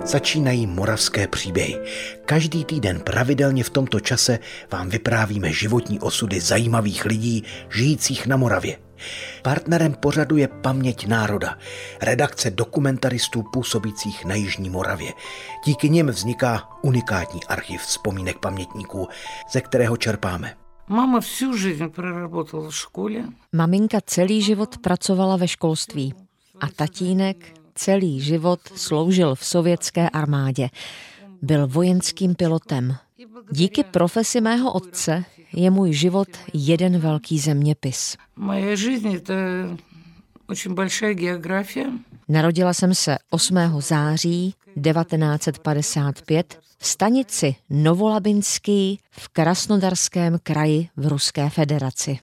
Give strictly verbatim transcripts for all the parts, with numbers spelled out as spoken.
Začínají moravské příběhy. Každý týden pravidelně v tomto čase vám vyprávíme životní osudy zajímavých lidí žijících na Moravě. Partnerem pořadu je Paměť národa, redakce dokumentaristů působících na jižní Moravě. Díky nim vzniká unikátní archiv vzpomínek pamětníků, ze kterého čerpáme. Mama всю жизнь проработала v škole. Maminka celý život pracovala ve školství a tatínek celý život sloužil v sovětské armádě. Byl vojenským pilotem. Díky profesi mého otce je můj život jeden velký zeměpis. Moje жизнь – это очень большая география. Narodila jsem se osmého září devatenáct set padesát pět v stanici Novolabinský v Krasnodarském kraji v Ruské federaci.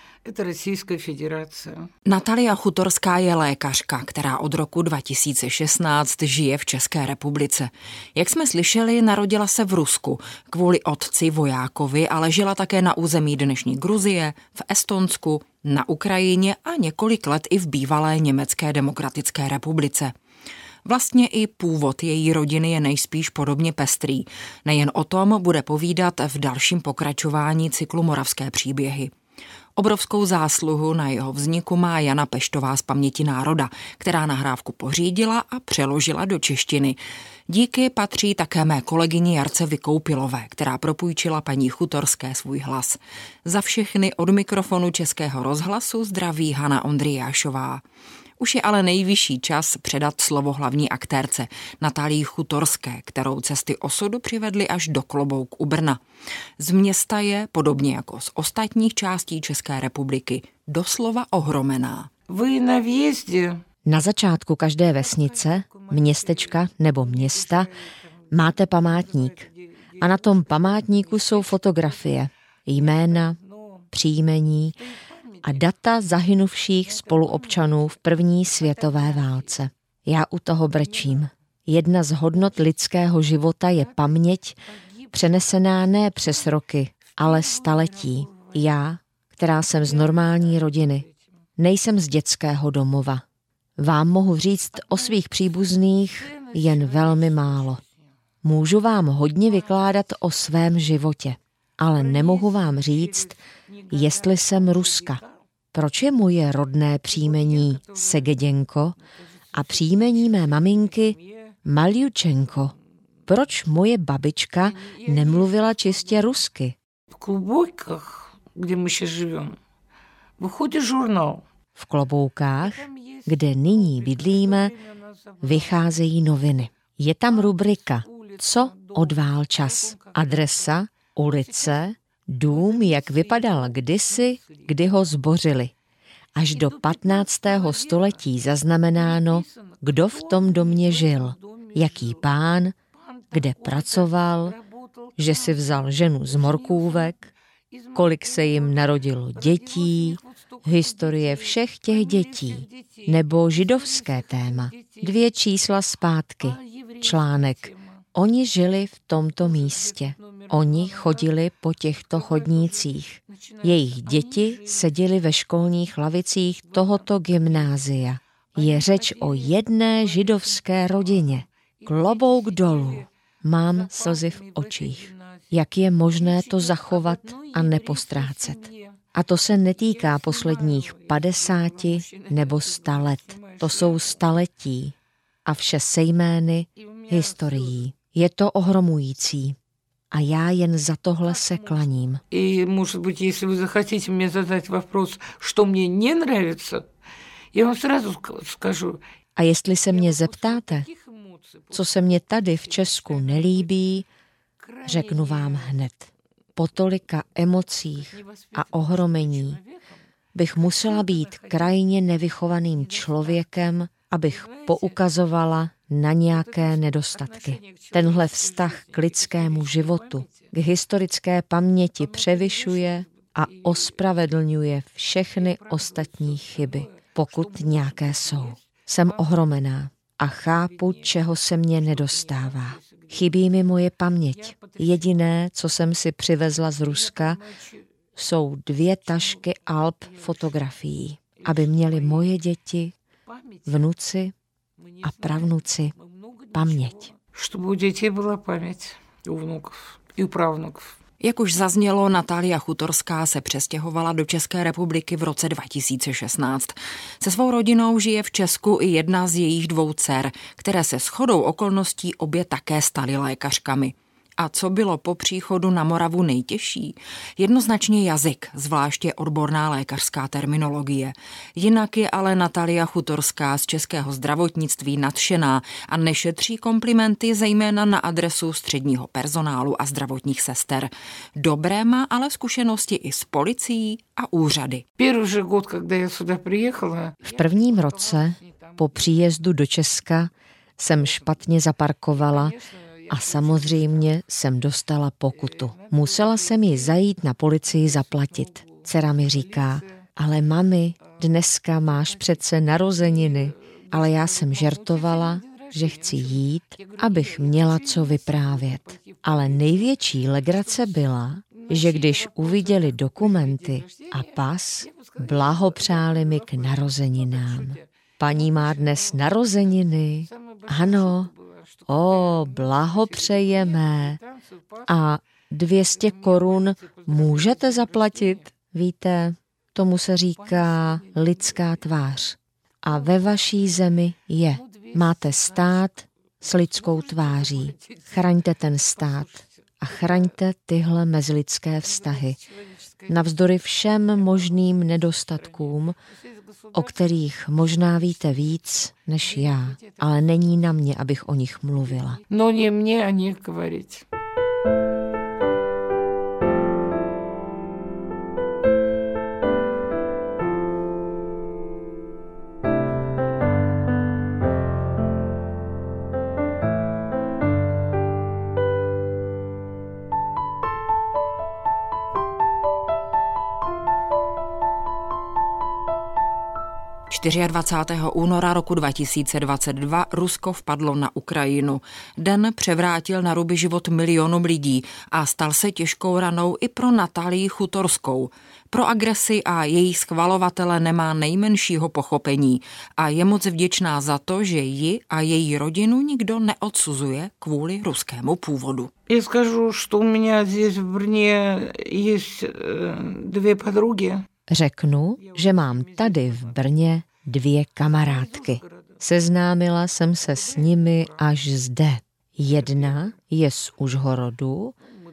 Natalia Chutorská je lékařka, která od roku dva tisíce šestnáct žije v České republice. Jak jsme slyšeli, narodila se v Rusku kvůli otci vojákovi, ale žila také na území dnešní Gruzie, v Estonsku, na Ukrajině a několik let i v bývalé Německé demokratické republice. Vlastně i původ její rodiny je nejspíš podobně pestrý. Nejen o tom bude povídat v dalším pokračování cyklu Moravské příběhy. Obrovskou zásluhu na jeho vzniku má Jana Peštová z Paměti národa, která nahrávku pořídila a přeložila do češtiny. Díky patří také mé kolegyni Jarce Vykoupilové, která propůjčila paní Chutorské svůj hlas. Za všechny od mikrofonu Českého rozhlasu zdraví Hana Ondrijášová. Už je ale nejvyšší čas předat slovo hlavní aktérce Natálii Chutorské, kterou cesty osudu přivedly až do Klobouk u Brna. Z města je, podobně jako z ostatních částí České republiky, doslova ohromená. Vy na vjezdě. Na začátku každé vesnice, městečka nebo města máte památník. A na tom památníku jsou fotografie, jména, příjmení a data zahynuvších spoluobčanů v první světové válce. Já u toho brečím. Jedna z hodnot lidského života je paměť, přenesená ne přes roky, ale staletí. Já, která jsem z normální rodiny, nejsem z dětského domova. Vám mohu říct o svých příbuzných jen velmi málo. Můžu vám hodně vykládat o svém životě, ale nemohu vám říct, jestli jsem Ruska. Proč je moje rodné příjmení Segeděnko a příjmení mé maminky Maljučenko? Proč moje babička nemluvila čistě rusky? V Kloboukách, kde my še žijeme, vychodí žurnál. V Kloboukách, kde nyní bydlíme, vycházejí noviny. Je tam rubrika Co odvál čas? Adresa, ulice, dům, jak vypadal kdysi, kdy ho zbořili. Až do patnáctého století zaznamenáno, kdo v tom domě žil, jaký pán, kde pracoval, že si vzal ženu z morkůvek, kolik se jim narodilo dětí, historie všech těch dětí, nebo židovské téma. Dvě čísla zpátky, článek. Oni žili v tomto místě. Oni chodili po těchto chodnících. Jejich děti seděly ve školních lavicích tohoto gymnázia. Je řeč o jedné židovské rodině. Klobouk dolů. Mám slzy v očích. Jak je možné to zachovat a nepostrácet? A to se netýká posledních padesáti nebo sta let. To jsou staletí a vše se jmény historií. Je to ohromující. A já jen za tohle se klaním. И, может быть, если вы захотите мне задать вопрос, что мне не нравится, я вам сразу скажу. A jestli se mě zeptáte, co se mně tady v Česku nelíbí, řeknu vám hned. Po tolika emocích a ohromení bych musela být krajně nevychovaným člověkem, abych poukazovala na nějaké nedostatky. Tenhle vztah k lidskému životu, k historické paměti převyšuje a ospravedlňuje všechny ostatní chyby, pokud nějaké jsou. Jsem ohromená a chápu, čeho se mně nedostává. Chybí mi moje paměť. Jediné, co jsem si přivezla z Ruska, jsou dvě tašky alb fotografií, aby měly moje děti, vnuci a pravnuci paměť. Чтобы у детей была память, у внуков и у правнуков. Jak už zaznělo, Natalia Chutorská se přestěhovala do České republiky v roce dva tisíce šestnáct. Se svou rodinou žije v Česku i jedna z jejich dvou dcer, které se shodou okolností obě také staly lékařkami. A co bylo po příchodu na Moravu nejtěžší? Jednoznačně jazyk, zvláště odborná lékařská terminologie. Jinak je ale Natalia Chutorská z českého zdravotnictví nadšená a nešetří komplimenty zejména na adresu středního personálu a zdravotních sester. Dobré má ale zkušenosti i s policií a úřady. V prvním roce po příjezdu do Česka jsem špatně zaparkovala a samozřejmě jsem dostala pokutu. Musela jsem ji zajít na policii zaplatit. Dcera mi říká, ale mami, dneska máš přece narozeniny. Ale já jsem žertovala, že chci jít, abych měla co vyprávět. Ale největší legrace byla, že když uviděli dokumenty a pas, blahopřáli mi k narozeninám. Paní má dnes narozeniny. Ano. O, blahopřejeme. A dvě stě korun můžete zaplatit? Víte, tomu se říká lidská tvář. A ve vaší zemi je. Máte stát s lidskou tváří. Chraňte ten stát a chraňte tyhle mezilidské vztahy. Navzdory všem možným nedostatkům, o kterých možná víte víc než já, ale není na mě, abych o nich mluvila. No ne mě o nich говорить. dvacátého čtvrtého února roku dva tisíce dvacet dva Rusko vpadlo na Ukrajinu. Den převrátil na ruby život milionům lidí a stal se těžkou ranou i pro Natalii Chutorskou. Pro agresi a její schvalovatele nemá nejmenšího pochopení a je moc vděčná za to, že ji a její rodinu nikdo neodsuzuje kvůli ruskému původu. Já скажу, что у меня здесь в Brně есть dvě подруги. Řeknu, že mám tady v Brně dvě kamarádky. Seznámila jsem se s nimi až zde. Jedna je z Užhorodu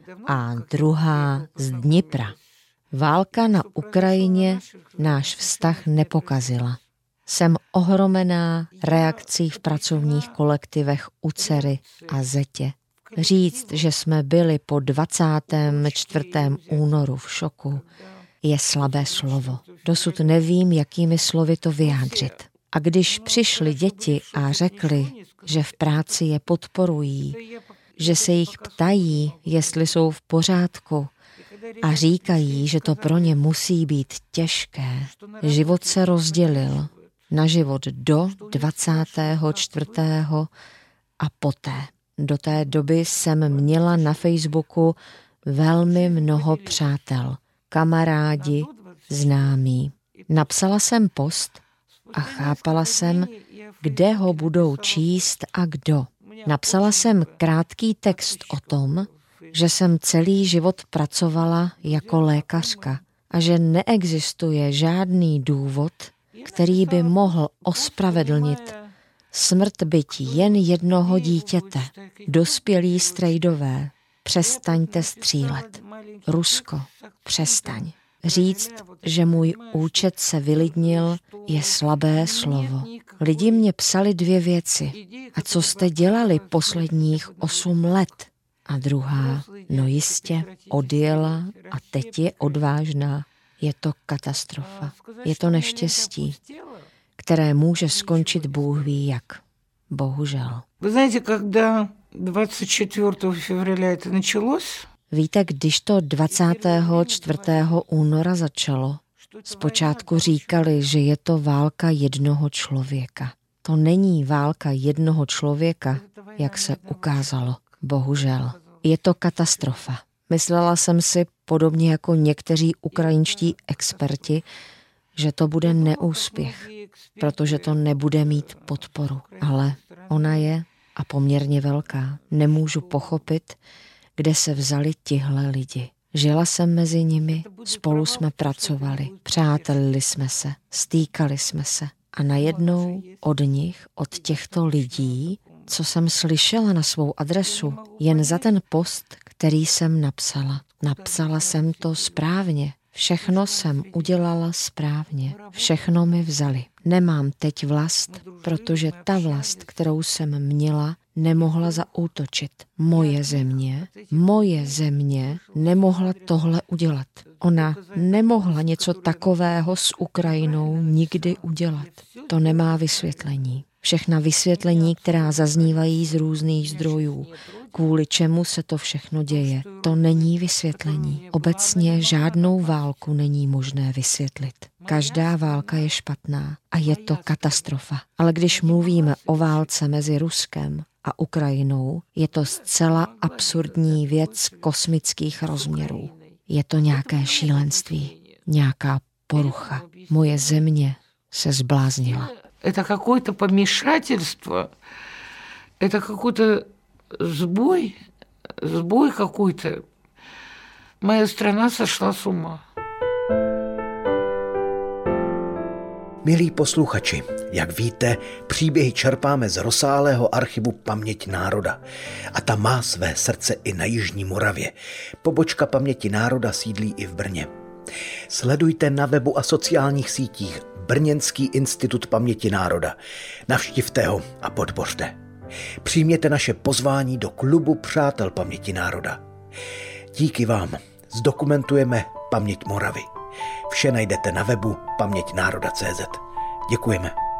a druhá z Dnipra. Válka na Ukrajině náš vztah nepokazila. Jsem ohromená reakcí v pracovních kolektivech u dcery a zetě. Říct, že jsme byli po dvacátém čtvrtém únoru v šoku, je slabé slovo. Dosud nevím, jakými slovy to vyjádřit. A když přišly děti a řekli, že v práci je podporují, že se jich ptají, jestli jsou v pořádku a říkají, že to pro ně musí být těžké, život se rozdělil na život do dvacátého čtvrtého a poté. Do té doby jsem měla na Facebooku velmi mnoho přátel. Kamarádi, známí. Napsala jsem post a chápala jsem, kde ho budou číst a kdo. Napsala jsem krátký text o tom, že jsem celý život pracovala jako lékařka a že neexistuje žádný důvod, který by mohl ospravedlnit smrt byť jen jednoho dítěte. Dospělí strejdové, přestaňte střílet. Rusko, přestaň. Říct, že můj účet se vylidnil, je slabé slovo. Lidi mě psali dvě věci. A co jste dělali posledních osm let? A druhá, no jistě, odjela a teď je odvážná. Je to katastrofa. Je to neštěstí, které může skončit Bůh ví jak. Bohužel. Vy znáte, когда dvacátého čtvrtého февраля to началось? Víte, když to dvacátého čtvrtého února začalo, zpočátku říkali, že je to válka jednoho člověka. To není válka jednoho člověka, jak se ukázalo. Bohužel. Je to katastrofa. Myslela jsem si, podobně jako někteří ukrajinští experti, že to bude neúspěch, protože to nebude mít podporu. Ale ona je a poměrně velká. Nemůžu pochopit, kde se vzali tihle lidi. Žila jsem mezi nimi, spolu jsme pracovali, přátelili jsme se, stýkali jsme se. A najednou od nich, od těchto lidí, co jsem slyšela na svou adresu, jen za ten post, který jsem napsala. Napsala jsem to správně. Všechno jsem udělala správně. Všechno mi vzali. Nemám teď vlast, protože ta vlast, kterou jsem měla, nemohla zaútočit. Moje země, moje země nemohla tohle udělat. Ona nemohla něco takového s Ukrajinou nikdy udělat. To nemá vysvětlení. Všechna vysvětlení, která zaznívají z různých zdrojů, kvůli čemu se to všechno děje, to není vysvětlení. Obecně žádnou válku není možné vysvětlit. Každá válka je špatná a je to katastrofa. Ale když mluvíme o válce mezi Ruskem a Ukrajinou, je to zcela absurdní věc kosmických rozměrů. Je to nějaké šílenství, nějaká porucha. Moje země se zbláznila. Это какое-то помешательство, это какой-то сбой, сбой какой-то. Моя страна сошла с ума. Milí posluchači, jak víte, příběhy čerpáme z rozsáhlého archivu Paměť národa. A ta má své srdce i na Jižní Moravě. Pobočka Paměti národa sídlí i v Brně. Sledujte na webu a sociálních sítích Brněnský institut paměti národa. Navštivte ho a podpořte. Přijměte naše pozvání do klubu Přátel paměti národa. Díky vám zdokumentujeme paměť Moravy. Vše najdete na webu paměť národa tečka cé zet. Děkujeme.